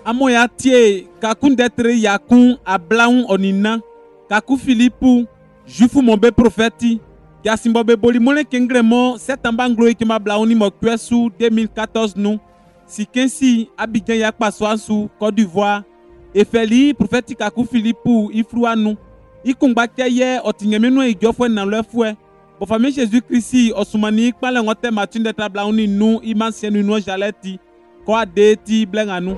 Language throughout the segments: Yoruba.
Amoya tie kakun detre yakun ablaun onina kaku Philippe jufu mombe prophète Yasimbobe bolimone kengremo setambanglo ikima blauni mo kwesu 2014 nous si kensi Abidjan yakpa swansu Côte d'Ivoire efeli prophète kaku Philippe ifruanu ikungba keye otinyemenu ijofwe na lefwe bo famille Jésus Christ osumani ikpale ngote matinde tablauni nu imansienu no jaleti ko adeti blenganu.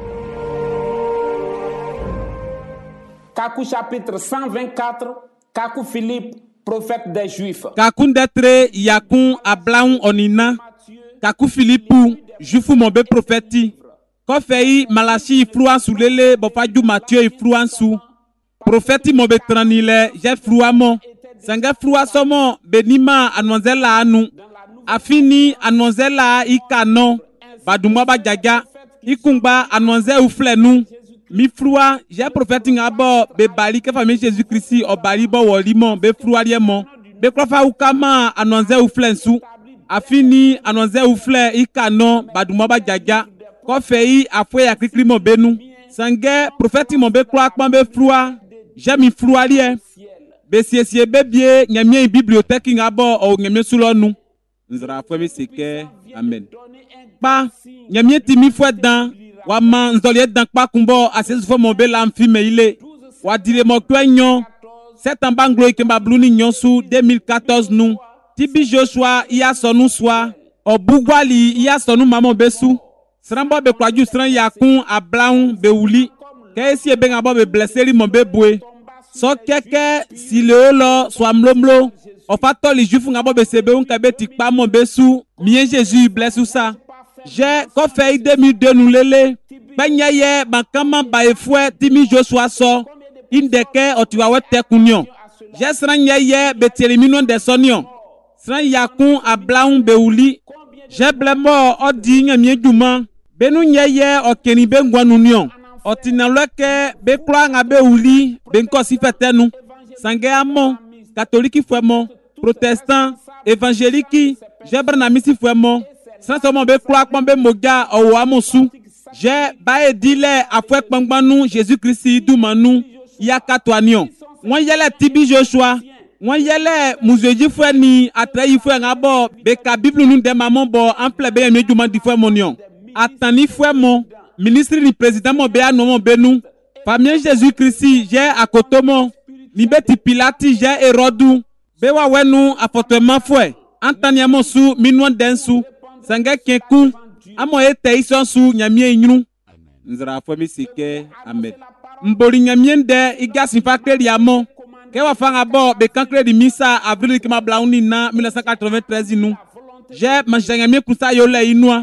Kakou chapitre 124, Kakou Philippe, prophète des Juifs. Kakou detre yakun ablaun onina, Kakou Philippe, juifu mombe prophète. Ko fei Malachi ifluan sou lele, bofaju Matthieu ifluan sou. Prophète mombe tranile, j'ai fluamon. Sanga flua somo benima anonzela anu. Afini anonzela ikano, badumwa bajaja, ikungba anonze uflenu. Mi flua, j'ai prophète ngabo be bali ke famille Jésus Christ o bali bo wolimo be flua liemo. Be krofa ukama anonze uflensu. Afini anonze ufle ikano badumwa bajaja. Ko fei afwe ya kriklimo benu. Sange prophète mo be kroa kpan be flua. J'ai mi flua lie. Be siesie bebie nyamie bibliothèque ngabo o nyamie sulonu. Nzra afwe mi seke. Amen. Pa nyamie timi fwe dan. Wama nzoliet dan kwa kumbo asesufo mobe la mfime ile. Wadile mokwe nyon. Setambanglo ikemba bluni nyonsu 2014 nou. Tibi Joshua iya sonu swa. Obugwali iya sonu mamo besu. Srambo be kwaju sran yakun ablaun be uli. Kesi ebe ngabo be blesseri mobe bwe. So keke si leolo swa mlomlo. Ofato li jufu ngabo be sebe unkebe tikpa mo besu. Mien Jésus blessu sa. J'ai fait 2002 nous lele. Banyaye bankama baefwe timi Joshua so. Indeke otiwawe tekunion. J'ai sranyaye betelimino de sonion. Sran yakun ablaun beuli. J'ai blemo odi nyamie duma. Benu nyaye okeni bengwanunion. Otinalweke bekwa ngabe uli benko sifetenu. Sange amon, catholique fwemo, protestant, évangélique, j'ai branamisi fwemo. Sans seulement be croix be moga o amosu. J'ai bae dile afwe kpangbanu Jésus Christ dumanu ya katwanion. Won yele tibi Joshua. Won yele muzeji fwe ni atrayi fwe ngabo be ka bible nu de maman bo en plebe me duma di fwe monion. Atani fwe mon ministre ni président mo be anomo benu. Famille Jésus Christ j'ai akotomo. Ni beti Pilati j'ai Hérodou. Be wa wenu afortement fwe. Antaniamo su minwan densu. Sanga keku amo ete isonsu nyamie nyunu nzra fo mi sike amen mbori nyamie nde igasi fa kredi amo ke wa fanga bo be kan kredi misa avril ki ma blauni na 1993 nu je manjanyamie kusa yole inua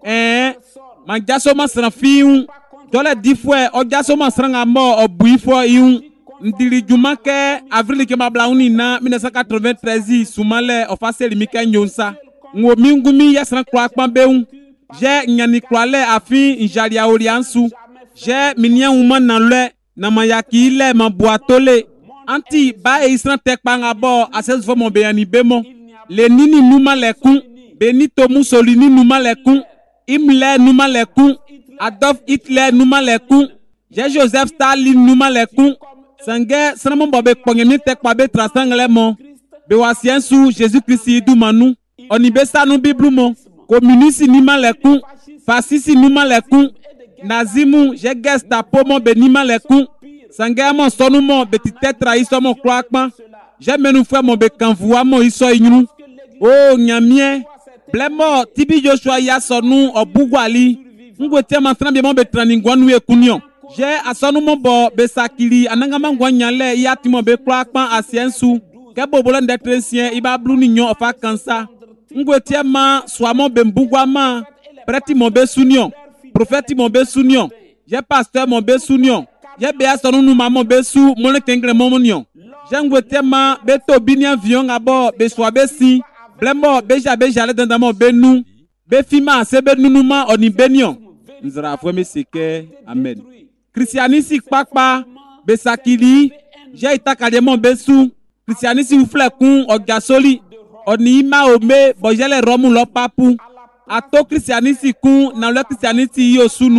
manjaso masran fiun jole difwe o jaso masran amo obuifo iun ndiri jumake avril ki ma blauni na 1993 sumale ofaseli mika nyonsa ngo mingumi yasran kwa kpambeun je nyani kwale afi injalia oriansu je minia uma na le na mayaki le mabuatole anti ba isran tekpanga bo asesfo mo beyani bemo le nini numa lekun Benito Mussolini numa lekun Himmler numa lekun Adolf Hitler numa lekun je Joseph Stalin numa lekun sange sanamo bobe kpongemi tekpa be trasangle mo be wasiensu Jésus Christ dumanu onibesa nu Bible mo communiste ni malekun fasciste ni malekun nazimu je Gestapo mo be ni malekun sanga mo sonu mo betite trahison mo kroakpan je menu fwe mo be kanvua mo iso inyunu o nyamie blemo tibi Joshua ya sonu obugwali ngwetia mantran be mo be traningwanu ekunion je asonu mo bo be sakili anangama ngwanyale ya timo be kroakpan asiensu ke bobola ndetresien iba blu ni nyon ofa kansa ngwetia ma swamo bembugwa ma preti mo be sunion prophète mo be sunion je pasteur mo be sunion je be asonu nu ma mo be su mo le kengre mo monion je ngwetia ma be to binian vion abo be swa be si blembo be jale danda mo be nu be fima se be nunuma oni benion nzra afwe mi sike amen christianisi kpakpa be sakili je itakade mo be su christianisi ufle kun ogasoli oni ima ome bojele romu lo papu ato christianisi kun na le christianisi yo sunu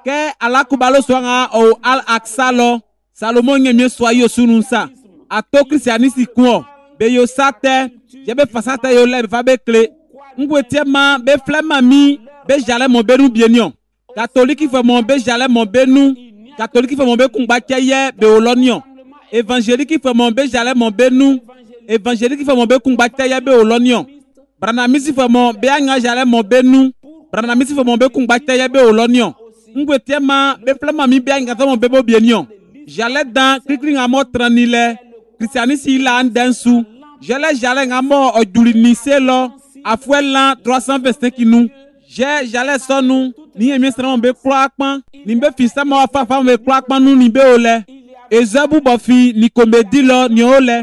ke alakubalo swanga o al aksalo Salomon nyemie soyo sununsa ato christianisi kuo be yo sate je be fasata yo le fa be kle ngwetiema be flema mi be jale mo benu bienion catholique fe mo be jale mo benu catholique fe mo be kungba cheye be olonion évangélique fe mo be jale mo benu évangélique fe mo be kungba cheye be olonion branamisi fe mo be anga jale mo benu branamisi fe mo be kungba cheye be olonion ngwetiema be flema mi be anga mo be bo bienion j'allais dans krikri ngamo tranile christianisi ila andensu j'allais ngamo ojulinise lo afuela 325 nous j'allais sonu ni emi sra be kloakpan ni be fisa mo afafa be kloakpan nu ni be ole ezabu bofi ni comédie lo ni ole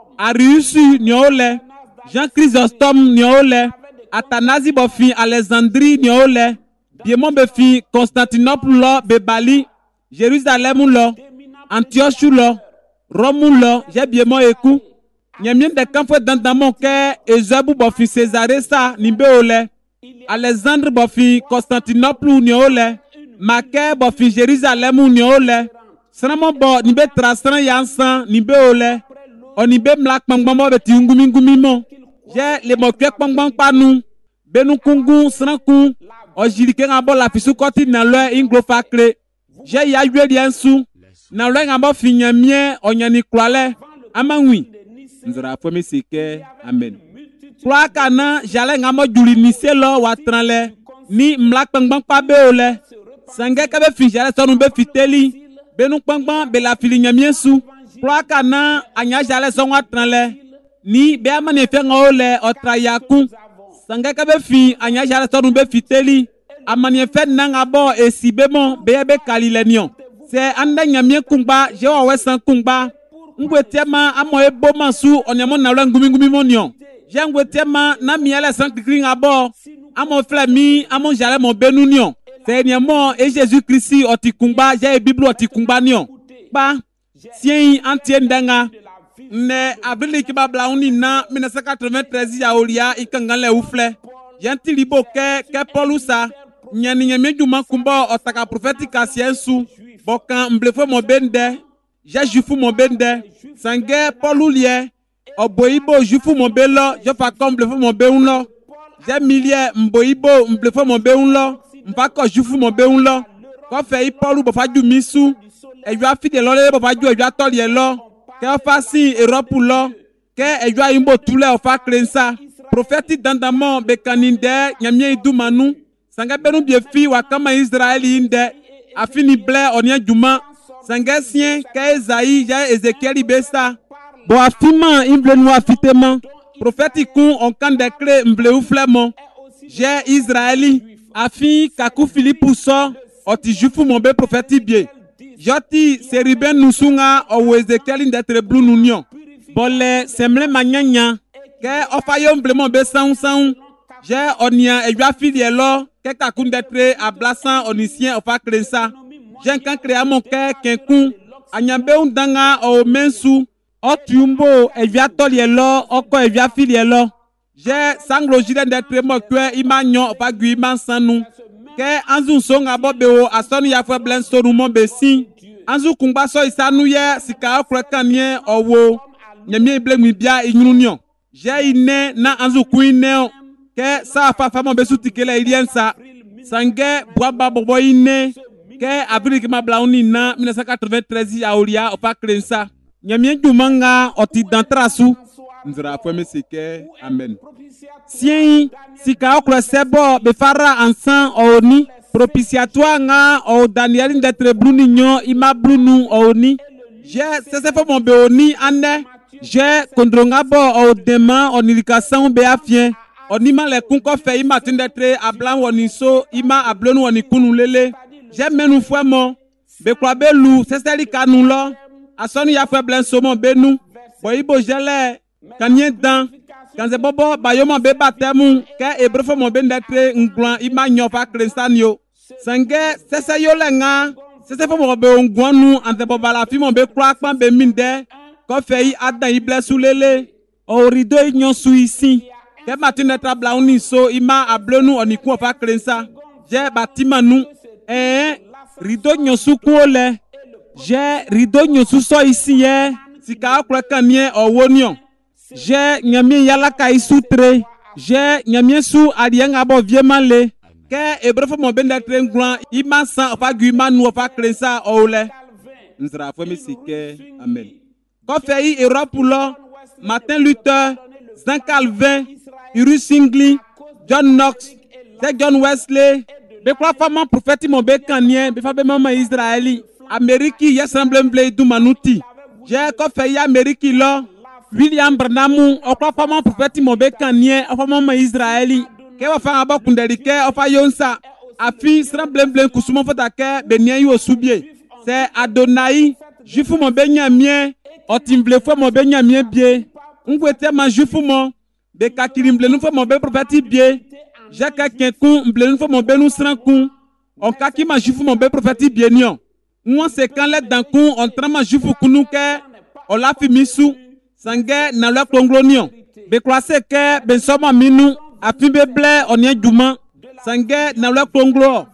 Ariusu ni ole Jean Chrysostome ni ole Athanasi bofi Alexandrie ni ole Biemon befi Constantinople lo be Bali Jérusalem lo Antioche lo Rome lo j'ai bien mo eku nyamien de camp dans mon cœur ezabu bofi Césarée ça ni be ole Alexandre bofi Constantinople ni ole Macaire bofi Jérusalem ni ole Sramo bo ni be trasran yansan ni be ole oni be mlak pangban be ti ngumi mo j'ai le mo kwe pangban panu benu kungu sranku o jirike ngabo la fisu koti na lo inglo fakle j'ai ya yeli ensu na lo ngabo finyamie onyani klale amanwi nzara fo mesike amen kwa kana jale ngamo juli niselo watranle ni mlak pangban pa be ole sange ka be fi jale sonu be fiteli benu pangban be la filinyamie su kwa kana anya jale son watranle ni be amane fe ngole otrayaku sange ka be fi anya jale sonu be fiteli amane fe nangabo esibemo be kalilenion c'est anda nyamie kungba je wa wesan kungba ngwetiema amo ebo masu onyamo na lo ngumi monion je ngwetiema na miele san kikring abo amo flami amo jale mo benunion c'est niamo et Jésus Christ oti kungba je bible oti kungba nion ba sien antie ndanga ne abril ki babla uni na 1993 ya olia ikangale ufle yanti libo ke polusa nyani nyame juma kumba otaka prophétique asiensu bokan mblefo mo bende je jufu mo bende sange polulie oboibo jufu mo belo je fa comme mblefo mo beunlo je milie mboibo mblefo mo beunlo mfa ko jufu mo beunlo ko fe ipolu bo faju misu ejo afide lo le bo faju ejo atolie lo ke fa si Europe lo ke ejo ayimbo tule o fa krensa prophétique dandamo be kaninde nyamie idumanu sanga benu biefi wakama Israeli inde afini ble onia juma sanga sien ka Esaïe ja Ezekiel besa bo afima imble no afitema prophétique on kan décret mble uflemo je Israeli afi kaku Philippe so oti jufu mon be prophétique bie joti seriben nusunga o Ezekiel ndetre blue nunion bole semble manyanya ke ofayo mble mon be san je onia ejo afilie lo ke kaku ndetre ablasan onisien ofa krensa j'ai kan créa mon cœur kenkun anyambe undanga o mensu o tumbo evia tolielo oko evia filielo j'ai sanglo jide ndetre mo kwe imanyo ofa gui imansanu ke anzu songa bobeo asoni ya fwe blen soru mo besi anzu kungba so isanu ye sika okre kanie owo nyamie blemi bia inyununion j'ai ine na anzu kuine ke sa fa mo besu tikele iliensa sange bwaba bobo ine ke abril ki mablauni na 1993 ya olia opa krensa nyamie jumanga oti dantrasu nzira fo mesike amen sien sika okro sebo be fara ansan oni propitiatoire nga o Daniel ndetre bluni nyo ima blunu oni je sese fo mon be oni ane je kondronga bo o dema onilikasan be afien onima le kunko fe ima tindetre ablan woni so ima ablonu woni kunu lele j'ai menu fouemo be kwa belu seseli kanu lo asoni ya fwe blen somo benu boibo jele kanien dan kanze bobo bayomo be batemu ke ebrefo mo bendetre ngwan ima nyofa krensanio sange sese yo lenga sese fo mo be ngwanu ante boba la fi mo be kwa kpan be minde ko fei adan ible sulele o rido nyon su isi ke matine trabla oni so ima ablenu oniku ofa krensa je batima nu rideau nyosu kuole. J'ai rideau nyosu so ici ye. Sika akwe kanye owonion. J'ai nyamie yalaka isutre. J'ai nyamie su alieng abo viemale. Ke ebrefo mo benda trenglan ima san ofa guima nu ofa krensa oule. Nzra fami sike amen. Ko fei Europe lo Martin Luther, Jean Calvin, Uri Singli, John Knox, John Wesley, be kwa fama prophète mo be kanien be fa be mama Israeli. Ameriki yesemble du manuti. J'ai ko fei Ameriki lo William Branham okwa fama prophète mo be kanien ofa mama Israeli. Ke wa fa aba kundelike ofa yonsa afi sremble kusuma fota ke benien yo subie. C'est Adonai, jufu mo benyamien, otimble fo mo benyamien bie. Ngwete ma jufu mo be kakirimble nu fo mo be prophète bie. Jaka kenku mble nu fo mo be nu sranku. On kaki ma jufu mo be prophète bie nion. Moi c'est quand let danku on trama jufu kunu ke o la fi misu sange na le konglonion. Be croise ke ben soma minu afi be ble onye duma sange na le konglo.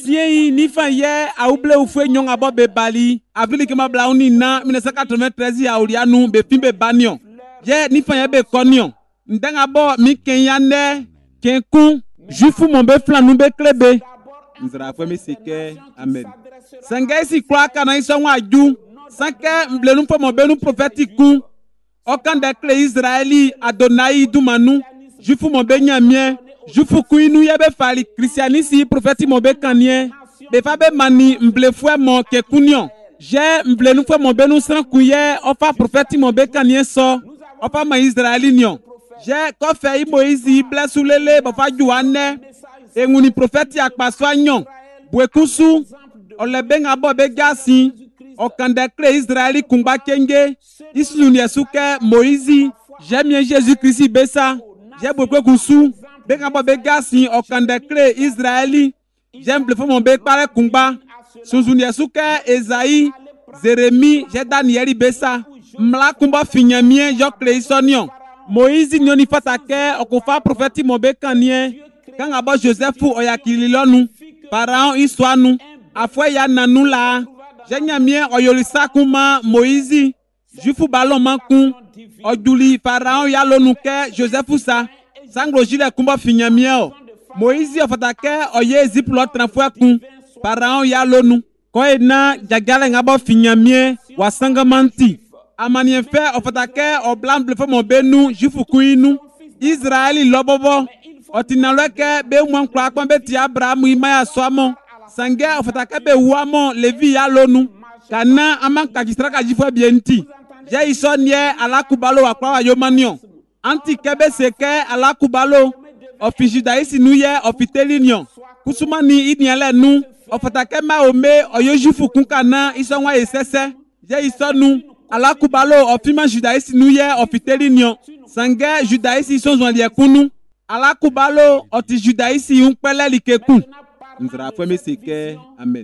Si ni fan ye a ouble ou fwe nyon abo be bali avili kema blauni na 1993 ya urianu be fimbe banyon. Ye ni fan ye be konyon. Ndeng abo mi kenyane kenku jufu mon be flanou be klebe. Nzra fwe mi sike amen. Sange si kwa kana iso waju sanke mblenu fwe mon be nu prophetiku. Okan de kle Israeli Adonai dumanu jufu mon be nyamien. Jufu kuinu yebe fali christianisi prophète mo be kanien be fa be mani mble fwe mo ke kunyon je mble nu fwe mo be nu sran kuye ofa prophète mo be kanien so ofa ma Israeli nyon je ko fe Moïse blesu lele bo fa juane e nguni prophète akpaso anyon bwekusu ole be ngabo be gasi okande kle Israeli kumba kenge isu ni esuke Moïse j'aime Jésus Christ besa je bwekusu Bekabo be gasi okande kle Israeli j'aime fo mon be pare kumba sunzuni esuke Esaïe Jérémie je Daniel besa mla kumba finyamien jo kle isonion Moïse nyoni fatake okofa prophète mo be kanien kanga bo Joseph oyakililonu Pharaon iswanu afwe ya nanu la jenyamien oyolisa kuma Moïse jufu balomanku ojuli Pharaon ya lonuke Joseph sa Sanglo jile kumba finyamien Moïse ofatake oye ziplo tranfwe kun Pharaon ya lonu ko ena jagale ngabo finyamien wasangamanti amanien fe ofatake oblamble fo mo benu jufu kuinu Israeli lobobo otinalweke be mwankwa akon be ti Abraham imaya swamo sange ofatake be wamo Levi ya lonu kana amanka jistraka jifwe bienti je isonye alakubalo akwa wa yomanion anti kebe seke ala kubalo ofi judaïsi nuye ofi telinyon kusumani inyele nu ofatake ma ome oyojufu kunkana isonwa esese je isonu ala kubalo ofi ma judaïsi nuye ofi telinyon sange judaïsi isonzwa liekunu ala kubalo oti judaïsi unkpele likekun nzra fwe seke amen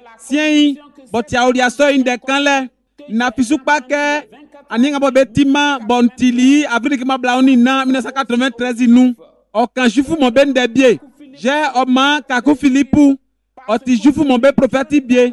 sien boti auria so inde kanle na pisupa ke aninga bo betima bontili avili ma blauni na 1993 nu okan jufu mo ben de bie je oma kaku Philippe oti jufu mo be prophète bie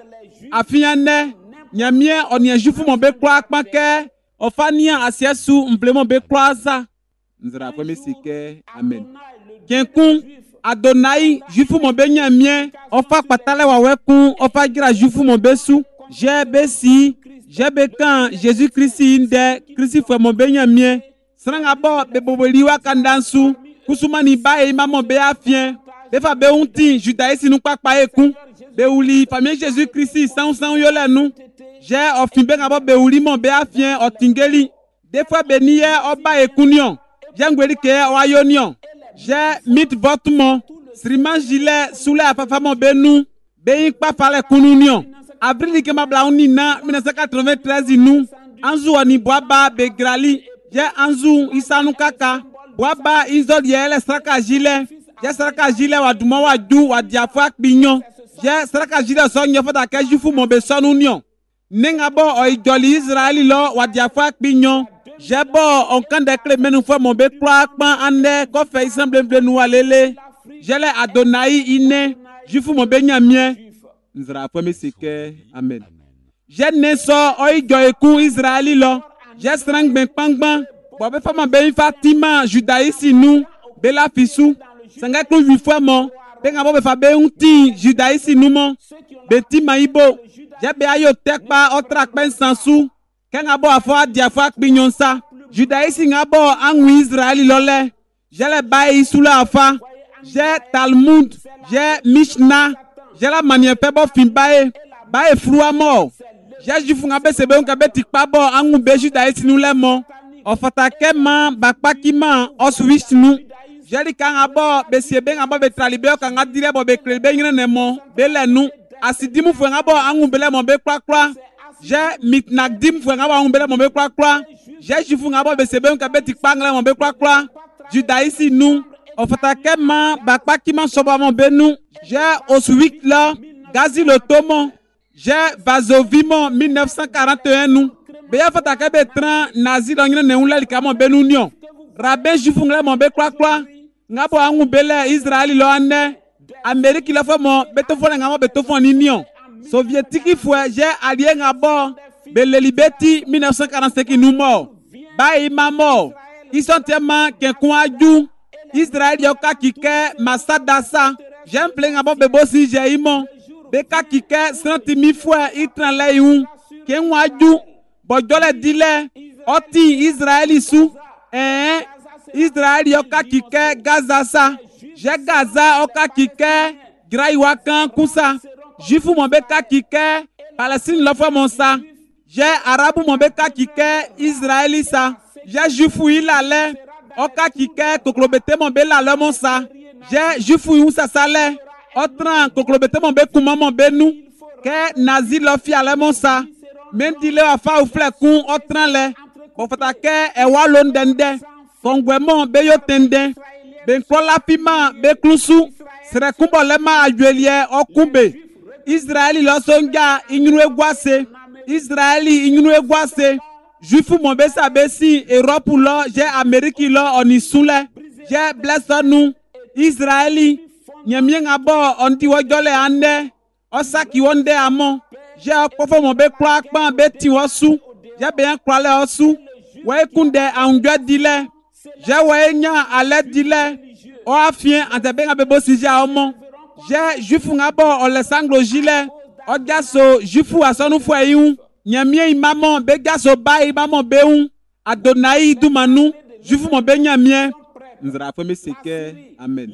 afiane nyamie onia jufu mo be kwa akpake ofania asiesu mble mo be kwaza nzra fwe sike amen kenkun Adonai jufu mo be nyamie ofa patale wa wekun ofa gira jufu mo besu je besi Jebe kan Jésus Christ inde Christ fwe mo benyamien sranga bo be boboliwa kandansu kusumani bae mamo be afien be fa be unti judaïsi nu pakpa ekun be uli famille Jésus Christ san yole nu je ofin be ngabo be uli mo be afien otingeli de fois be niye oba ekunion jangweli ke wayonion je mit votmo sriman gile sule afafa mo benu be ikpa fale kununion Avril ke ma blauni na 1993 nu anzu ani boaba begrali je anzu isanu kaka boaba izod yele straka jile je straka jile wa duma wa du wa diafwa kpinyon je straka jile so nyofota ke jufu mo be sonu nion nenga bo o ijoli Israeli lo wa diafwa kpinyon je bo onkan de kle menu fo mo be kwa pan ande ko fe isemble nu walele je le Adonai ine jufu mo be nyamien Nzra fami sike. Amen. J'ai neso oi joyeku Israeli lo. J'ai strang ben pangban. Bobe fama ben Fatima judaïsi nu. Bela fisu. Sanga klu 8 fois mon. Benga bobe fa be unti judaïsi nu mon. Beti maibo. J'ai be ayo tekpa otrak ben sansu. Kenga bo afo dia fo akbinyonsa. Judaïsi ngabo angu Israeli lole. J'ai le baï sous la afa. J'ai Talmud. J'ai Mishnah. J'ai la manière pebo finbae. Bae flua mort. J'ai jufu ngabe sebe ngabe tikpa bo angu be Judaïsi nu le mo. Ofatake man bakpaki man oswish nu. J'ai li kanga bo be sebe ngabo be tralibe kanga dire bo be klebe ngene mo. Be le nu. Asidimu fwe ngabo angu bele mo be kwa. J'ai mitnagdim fwe ngabo angu bele mo be kwa. J'ai jufu ngabo be sebe ngabe tikpa ngale mo be kwa. Judaïsi nu. Ofatake man bakpaki man soba mo be nu. J'ai Oswik là, Gazi le Tomo. J'ai Vazovimo 1941 nous. Beya fatake betran nazi dans une neula likamo benunion. Rabin jufungle mon be kwa. Ngabo angu bele Israeli lo ane. Amérique la fa mon betofone ngamo betofone union. Soviétique foué j'ai allié ngabo bele libeti 1945 nous mort. Ba ima mort. Ils sont tellement qu'un coin Israël yoka kike masadasa. J'aime plein ngabo bebo si j'ai imon. Beka kike 100 000 fois itran le yun. Ken waju bojole dile oti Israeli sou. Israël yoka kike Gaza sa. J'ai Gaza oka kike Graiwakan kusa. Jifu mon beka kike Palestine l'offre mon sa. J'ai Arabu mon beka kike Israeli sa. J'ai Jifu ilale oka kike koklobete mon bela le mon sa. J'ai Jifu yon sa sale. Otran koklobete mon be kuma mon be nou. Ke nazi lo fi ale mon sa. Men dile wa fa ou flekun otran le. Bon fatake e walon dende. Kongwe mon be yo tende. Ben kola pima be klusu. Sere kumbo lema ajuelie okumbe. Israeli lo songa inyunu egwase. Israeli inyunu egwase. Jufu mon be sa besi Europe lo. J'ai Amérique lo onisule. J'ai blesse nous. Israeli. Nyamie ngabo onti wajole ande. Osaki wonde amon. J'ai akofo mon be kwa akpan be ti wosu. J'ai bien kwale osu. Wae kunde aungwe dile. J'ai wae nya ale dile. O afien antebe ngabe bo sije a omon. J'ai jufu ngabo ole sanglo jile. O gaso jufu asonu fwe yun. Nyamie imamon be gaso ba imamon be un. Adonai dumanu. Jufu mon be nyamie. Nzra fome seke. Amen.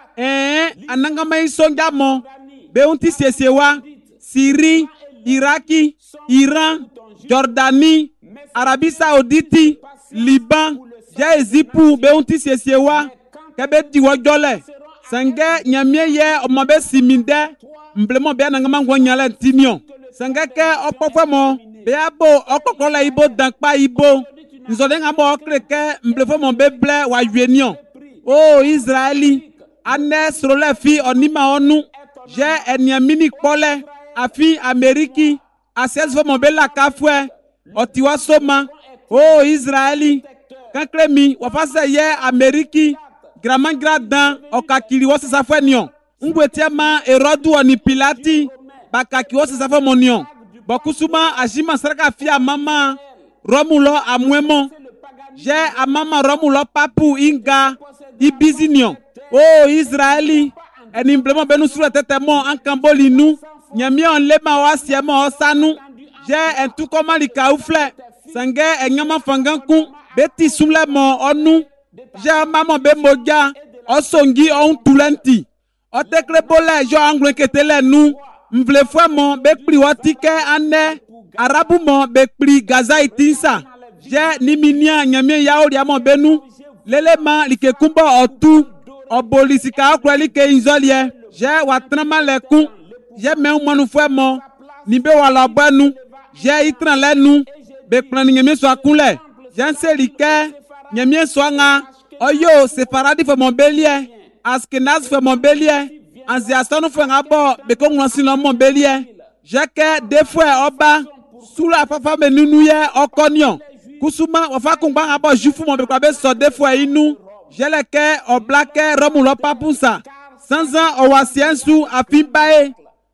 Anangama isonga mo. Be unti sesewa. Syrie, Iraki, Iran, Jordanie, Arabie Saoudite, Liban, Jaezipu, be unti sesewa. Kebe diwa jole. Sange nyamie ye omabe siminde. Mblemo be anangama ngwanyale tinyon. Sange ke opofwe mo. Be abo okokola ibo dankpa ibo. Nzode ngabo okreke mblefo mo be ble wa yuenyon. Oh Israeli. Ane srole fi onima onu. J'ai eniamini kole. Afi Ameriki. Ases fo mon bela kafwe. Otiwa soma. Oh Israeli. Kankremi. Wafase ye Ameriki. Graman gradan. Okakiri wose safwe nyon. Ngwetiama erodu oni pilati. Bakaki wose safwe monyon. Bokusuma ajima saraka fi amama. Romulo amwemo. J'ai amama Romulo papu inga. Ibizinyon. Oh Israeli, en implément benu sur le tétémon en Camboli nous, nyami on lema wa siemo osanu, j'ai un tout comment li kaoufle, sangue et nyama fanganku, beti soule mon onu, j'ai maman be moja, osongi on tulenti, o tekle bole jo angle ketele nous, mvle fwa mon be pri watike ane, arabu mon be pri Gaza itinsa, j'ai niminia nyami yaori amon benu, lelema li ke kumbo otu. Obolisika okweli ke inzolie. J'ai watrama le kun. J'ai me manu fwe mo. Nibe wala banu. J'ai itran le nu. Be plan nyemie so akunle. J'ai selike. Nyemie so nga. Oyo sefaradi fwe mon belie. Askenaz fwe mon belie. Anziasonu fwe nga bo. Be ko ngwansi lo mon belie. J'ai ke de fwe oba. Sous la fafa me nunuye okonyon. Kusuma wafa kungba nga bo jufu mon be kwa be so de fwe inu. J'ai le ke oblake romulo papusa. Sans an owasiensu afimbae.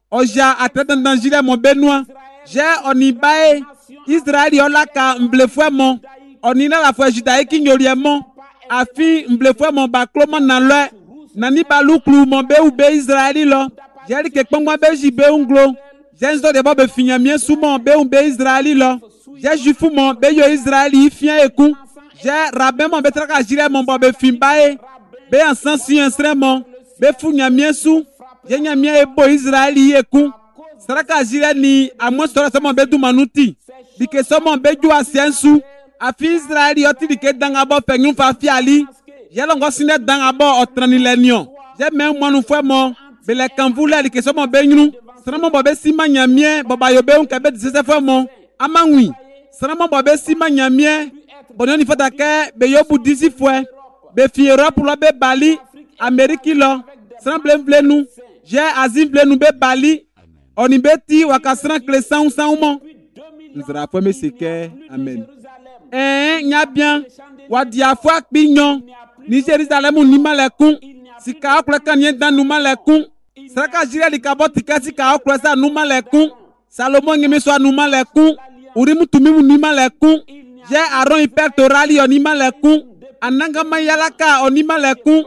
Oja atrete d'angile mon benoît. J'ai onibae Israël yolaka mblefouement. Onina la foi judaïque ignoriement. Afi mblefouement bakloma na le. Nani baluklu mon be ou be Israël lo. J'ai dit que comme moi be jibe unglo. J'ai zo de bobe finyamien sous mon be ou be Israël lo. J'ai jufu mon be yo Israël ifien eku. J'ai rabin mon be traka jire mon bobe fimbae. Be ensan si instrument. Be funyamien sous. J'ai nyamien ebo Israël eku. Saraka jire ni amon sora sama be du manuti. Dike sama be ju asiensu. Afi Israël yoti dike dangabo penyun fa fiali. J'ai longo sine dangabo otrani lenyon. J'ai même moi nous fait mon. Bele kanvule dike sama be nyunu. Sarama bobe sima nyamien boba yobe un kebe dise fe mon. Amangui. Sarama bobe sima nyamien. Bononi fata ke be yobu 10 fois. Be fi Europe lo be Bali. Amérique lo. Sarama blem nous. J'ai Asie blem nous be Bali. On y beti wakasran klesan ou san ouman. Nous rappelons mes séquelles. Amen. Nya bien. Wadiafwa kpinyon. Ni Jérusalem ou ni malekun. Si ka okle kanyen dan nou malekun. Saraka jire li kabot tika si ka okle sa nou malekun. Salomon ngeme so nou malekun. Urimu tumimu ni malekun. J'ai Aaron hyper torali on ni malekun. Ananga mayalaka on ni malekun.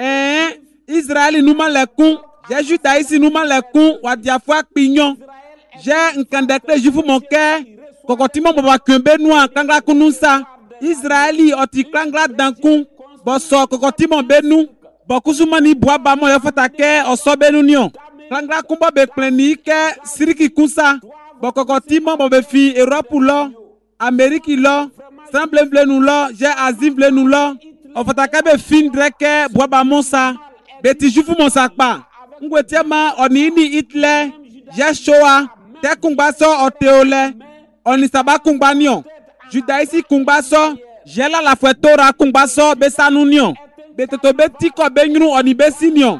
Israël nou malekun. J'ai Juda ici nous malekun wadiafwa kpinyon. J'ai un candidate jufu mon cœur. Kokotimo baba kembe noa kangla kunusa. Israeli oti kangla dankun. Boso kokotimo benu. Bokusuma ni boaba mo yofata ke osobe nunion. Kangla kumba be pleni ke siriki kunsa. Bokokotimo bobe fi Europe lo. Amérique lo. Semble vle nous lo. J'ai Asie vle nous lo. Ofata ke be fin dreke boaba monsa. Beti jufu monsa pa. Ngwetiema onini Hitler. J'ai Shoah. Te kungbaso oteole. Oni saba kungbanion. Judaïsi kungbaso. J'ai la foi Torah kungbaso besanunion. Betoto beti ko benyru oni besinion.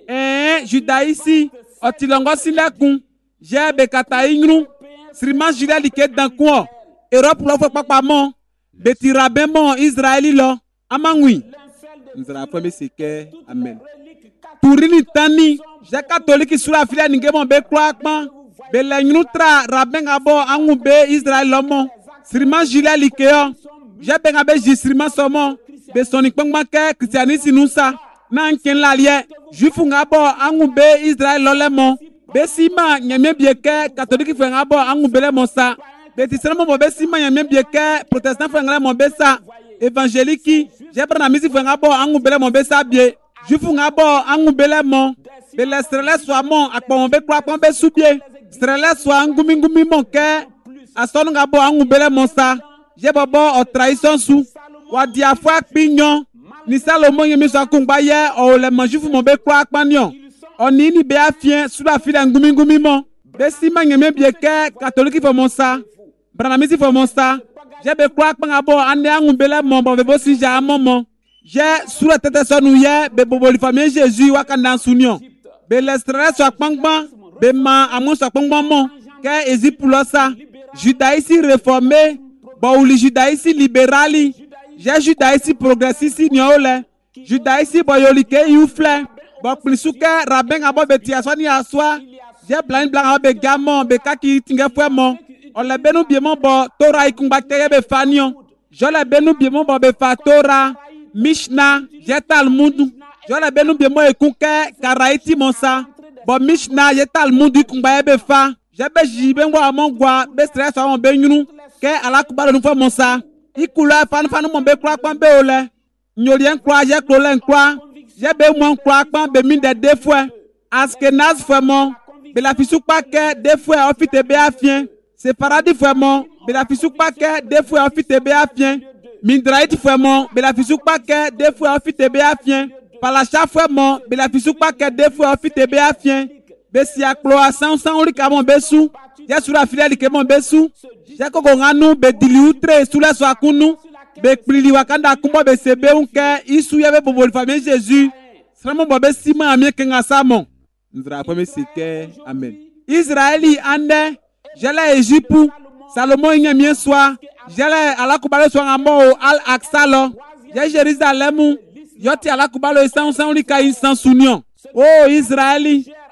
Judaïsi otilongo silekun. J'ai bekata ingru. Sriman jile like dankun. Europe lo fwe papamon. Beti rabemon Israeli lo. Amangui. Nous allons faire mes amen. Tourini tani. J'ai catholique sur la filière n'ingemon be kloakman. Belenoutra rabeng abo angube Israël lomo. Sriman jile likeo. J'ai ben abe jisriman somo. Be sonik pengmake christianisme nusa. Nan ken lalie. Jufu ngabo angube Israël lolemo. Be sima nyame bieke catholique fe ngabo angube le monsa. Be tisremo bo be sima nyame bieke protestant fe ngale mo be sa. Évangélique. J'ai pris la musique fe ngabo angube le mo be sa bie. Jufu ngabo angube le mo. Be le strele so mon akpon be kwa akpon be subie. Strele so angumi ngumi mon ke. Ason ngabo angube le monsa. J'ai bobo o trahison sou. Wadiafwa kpinyon. Ni Salomon yemi so akungba ye o le manjufu mon be kwa akpanyon. Oni ni be afien sous la file ngumi ngumi mon. Be sima yemi bieke catholique fo monsa. Branamisi fo monsa. J'ai be kwa akpangabo ande angube le mon bo be bo si ja mon. J'ai sous la tête son nouye be bobo li famille Jésus wakanda sunyon. Be l'estrele so akpangban. Be ma amon so akpangban mon. Ke ezi pulosa. Judaïsi réformé. Bon ou li judaïsi libérali. J'ai judaïsi progressiste nyole. Judaïsi boyolike youfle. Bon plisuke rabeng abo beti aswani aswa. J'ai blind blanc abo be gamon be kaki tinge fwemon. On le benu biemon bo Torah ikumba teye be fanyon. Je le benu biemon bo be fa Torah. Mishnah, j'ai Talmud. Je le benu biemon ekunke karaiti monsa. Bon Mishnah, j'ai Talmud ikumba be fa. J'ai be jiben wa mongwa be stress wa mon benyunu. Ke alakuba nous fait monsa. Ikula fan mon be kwa be ole. Nyolien kwa j'ai klolen kwa. J'ai be mon kwa be mine de deux fois. Askenaz vraiment. Be la fisuk pa ke deux fois ofite be afien. C'est paradis vraiment. Be la fisuk pa ke deux fois ofite be afien. Mindrait vraiment. Be la fisuk pa ke deux fois ofite be afien. Palacha vraiment. Be la fisuk pa ke deux fois ofite be afien. Be si akloa sans oli kamon besu. J'ai sur la filière qui mon besu. J'ai kokonganu be diliutre sous la soakunu. Be plili wakanda kumba be sebe unke isu yebe bobo famille Jésus. Sramo bobe sima amie kenga samon. Nzra pome sike amen. Israeli ande jele Égypte. Salomon nyamien soa. Jele alakubalo soa ngamo al aksalo. J'ai Jérusalem. Yoti alakubalo isan lika isan sunion. Oh Israeli.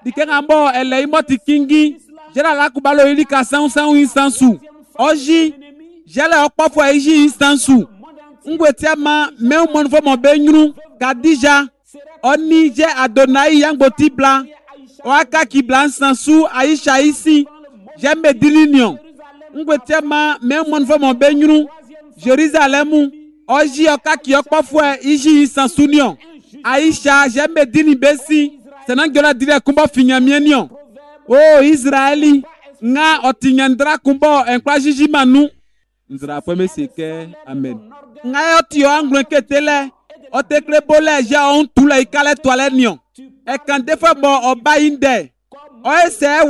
Dikengambo ele imoti kingi. Jela la kubalo ili ka sangu instansu. Oji jele okpofo eji instansu. Ngwetia ma meu monfo mo benyru Kadija oni je Adonai yangboti bla. Oaka ki bla instansu Aisha isi. Jembe dilinion. Ngwetia ma meu monfo mo benyru Jerusalemu. Oji oka ki okpofo eji instansu nion. Aisha jembe dini besi. Senangyola dire kumbo finyamienion. Oh Israeli nga otinyandra kumbo enkwa jiji manu. Nzra pweme seke amen. Nga yotio anglo ketele otekle bole ja on tula ikale toile nion. E kan defo bo oba inde. O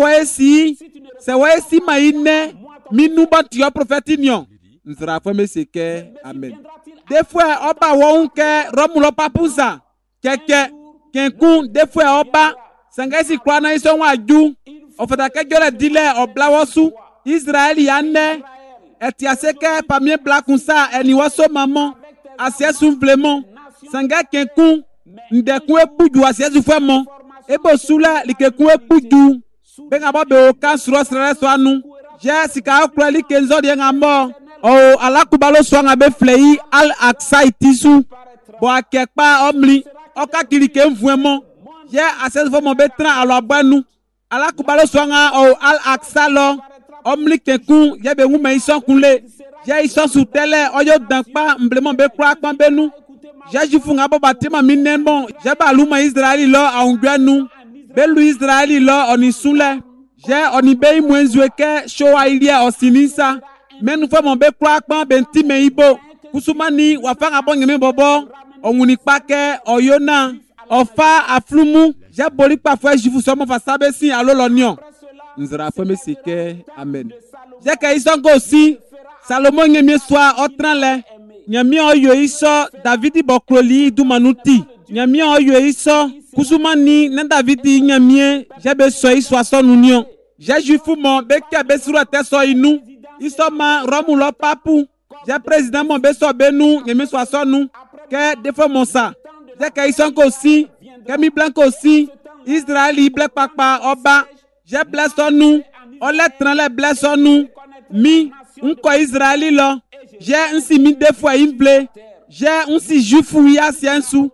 se we si ma ine minu bantio prophète nion. Nzra pweme seke amen. Defo oba wo unke romulo papusa. Keke kenkun defo oba sangesi kwa na iso waju. Ofata jola dile oblawosu Israel yane etiaseke pamie blakunsa eni waso maman asiesu vlement sanga kenkun ndekun epuju asiesu femo ebo sula likekun epuju benga bobe o kansuro sere so anu je sika okra likenzo de ngamo o alakubalo so ngabe flei al aksa itisu bo akepa omli okakiri kenvuemo je asiesu femo betra alo abanu alakubalo swanga o al aksalo omli kekun yebe ngume ison kunle je ison sutele oyo dankpa mblemon be kwa kpan benu je jifunga bo batima minenbon je baluma Israeli lo aungwenu belu Israeli lo onisunle je onibe imwenzweke showa ilia osinisa menu fo mon be kwa kpan bentime ibo kusumani wafanga bongeme bobo onguni pake oyona ofa aflumu j'ai boli parfois je vous somme face à bessi allo l'onion. Nzra femme sike amen. J'ai que ils sont aussi Salomon ngemi soa otranle. Nyami oyo iso David bokroli du manuti. Nyami oyo iso kusumani na David nyami j'ai besoin iso son union. J'ai jufu mon beke besura teso inu. Iso ma romulo papu. J'ai président mon beso benu ngemi soa son nu que defo mon sa. J'ai que ils sont aussi Kemi blanco aussi, Israël black papa oba, j'ai blessé nous, on les tranle blessé nous, mi, un ko Israël là, j'ai un si mi deux fois une blé, j'ai un si juifou ya siensu,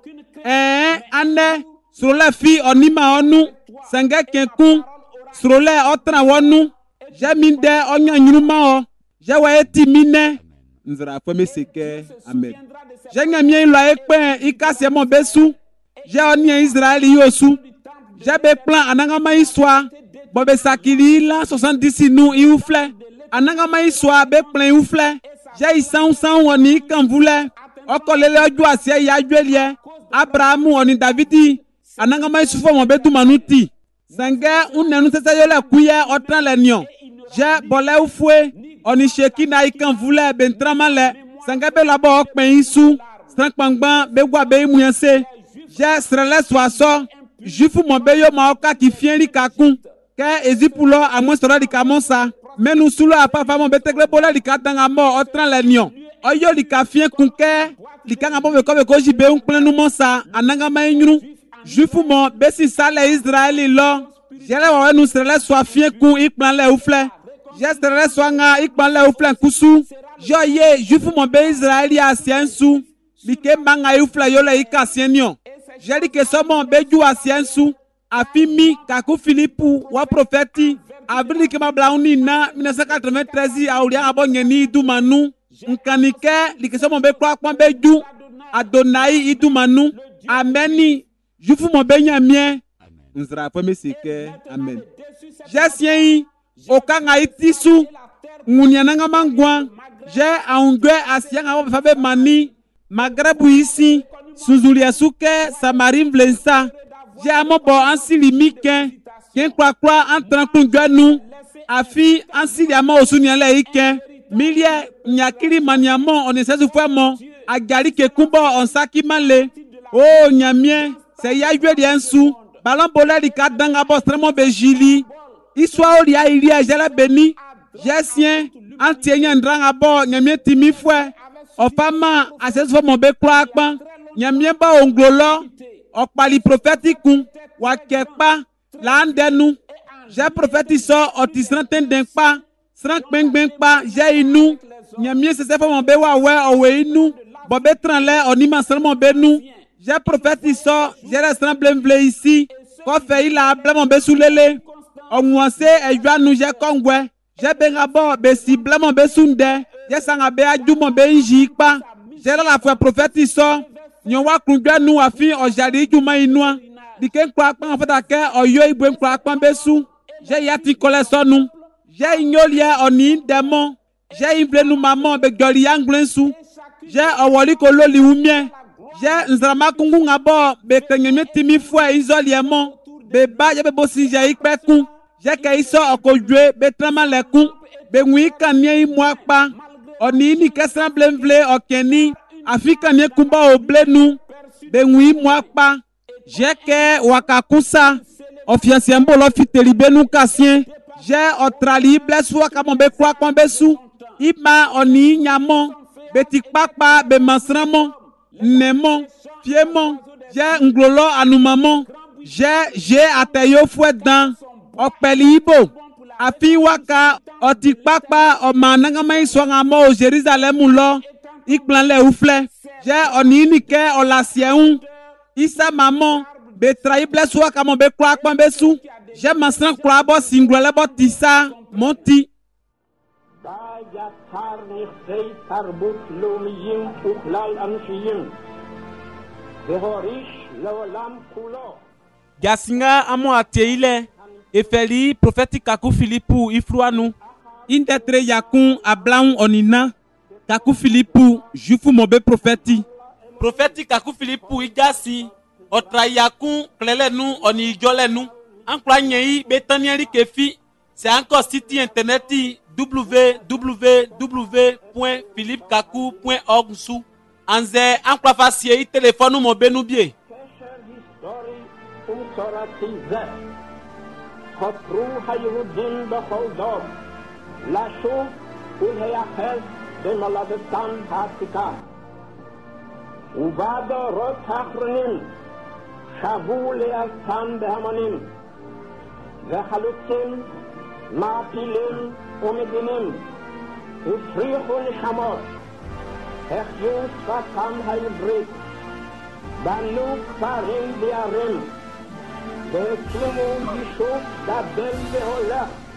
ane, sur la fille on ima onu, sanga kenkun, sur les autres wonu, j'ai mis de on yanyuma o, j'ai wa eti mine, nzra fome seke, amen. J'ai ngami la ekpe, ikase mon besu. J'ai onni Israël yosu. J'ai be plan anangama iswa. Bobe sakili la 70 nous ioufle. Anangama iswa be plan ioufle. J'ai isan woni kan voulait. Okolele ojo asie ya juelie. Abraham oni Davidi. Anangama isufo mo be du manuti. Sange unenu sesa yole kuye otran le nion. J'ai bolé oufwe. Oni shekina ikan voulait bentramale. Sange be labo okpen isu. Strankpangban be gwa be imuyense. J'ai serré soissons, jufu mon beyo maoka qui fient li kakun, que ezipulo a moins sera li kamonsa, mais nous sous la papa mon betekle bola li katanga mort, otran l'agnon. Oyo li kafien kunke, li kanga bo ko koji be un plein nous monsa, ananga maïnu, jufu mon besi sale Israël lo, j'ai la nous serré soifien kun ikplan le oufle, j'ai serré soanga ikplan le oufle kusu, joye jufu mon be Israël ya siensu, li ke manga oufle yo le ikasienyon. J'ai dit que ce mon beju asiensu, afimi kaku Philippou wa prophète, avril que ma blauni na 1993 a oulia abongeni du manu, nkanike li que ce mon be kwa beju Adonai idu manu, ameni, jufu mon benyamien, nzra pome sike, amen. J'ai sien okanga itisu, ngunyananga mangwa, j'ai aungwe asien abo fabe mani, magrebu ici, Suzulia souke, Samarim vlensa. J'ai un mot ansi limike. Ken kwa entran kunganu. Afi ansi liama osunyale ike. Milie nyakiri maniamo on essaie de faire mon. Agari ke kumbo on saki male. Oh nyamien. C'est ya yue diensu. Ballon bola di kadanga bo stremo bejili. Iswa oli ya ilia jela beni. Jesien. Antienya ndrang abo nyamien timi fwe. Ofama ases fo mon be kwa akpan. Nyamien ba onglolo. Okpali prophétique wa kekpa là ndenu. J'ai prophétisé oti sranten denkpa, sran kpengbenkpa, j'ai inu. Nyamie se fait mon bewa owe inu. Bobé tranlé onima sran mon benu. J'ai prophétisé, j'ai resté blemble ici. Quand fait il a blé mon besoulele. Onwase ejwa nu j'ai kongwe. J'ai bengabo besi blé mon besunde. J'ai sangabe aju mon benjikpa. J'ai la foi prophétisé. Nyowa kungwe nu afi ojari juma inua. Dike kwa en fait ake oyo ibwe kwa besu. J'ai yati kolesonu. J'ai ignolie oni démon. J'ai imble nu maman be goli anglensu. J'ai awoli kololi umie. J'ai nzrama kungu ngabo be kenyeme timi fwa izoliemo. Be ba ye be bosi j'ai ikpeku. J'ai ke iso okojwe be trama leku. Be ngui kanye imwakpa. Oni ni kesran blemvle okeni. Afrika ne kumba oblenu. Be ngui mwakpa. J'ai que wakakusa. Officiel mbolo fiteli benu kasien. J'ai otrali bleswa kamombe kwa kombesu. Ima oni nyamo. Betikpakpa be masramo. Nemo. Fiemo. J'ai nglolo anumamo. J'ai ateyo fouet dans. Okpeli ibo. Afi waka otikpakpa omanangama iswangamo au Jérusalem lo. Ikplan le oufle. J'ai oni nike olasien. Isa maman. Betrahi bleswa kama be kwa besu. Je masran kwa bo singwele bo tisa monti. Gasinga amo ateile. Efeli prophétique kaku Philippou ifruanu. Indetre yakun ablaun onina. Kaku Philippou jufu mobe prophétique. Prophétique kaku Philippou igasi. Otrayakun klelenu oni jolenu. Ankla nyei betanieri kefi. C'est encore site internet www.philippekaku.org sou. Anze ankla facie téléphone mo benu bie. La chose il est à faire de maladestan hasika. Uvada rotachronim. Shavul et Altan Behamanim, Vehalutim, Mapilim, Omedinim, Ufrihun Shamot, Echjus Vatam Hailbrit, Banuk Farim Diarim, Bekimu Yishuk Dabel Beholah.